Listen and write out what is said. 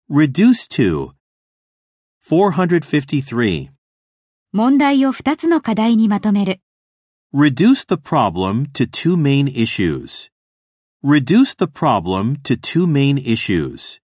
Reduce to. 453. 問題を2つの課題にまとめる。 Reduce the problem to two main issues. Reduce the problem to two main issues.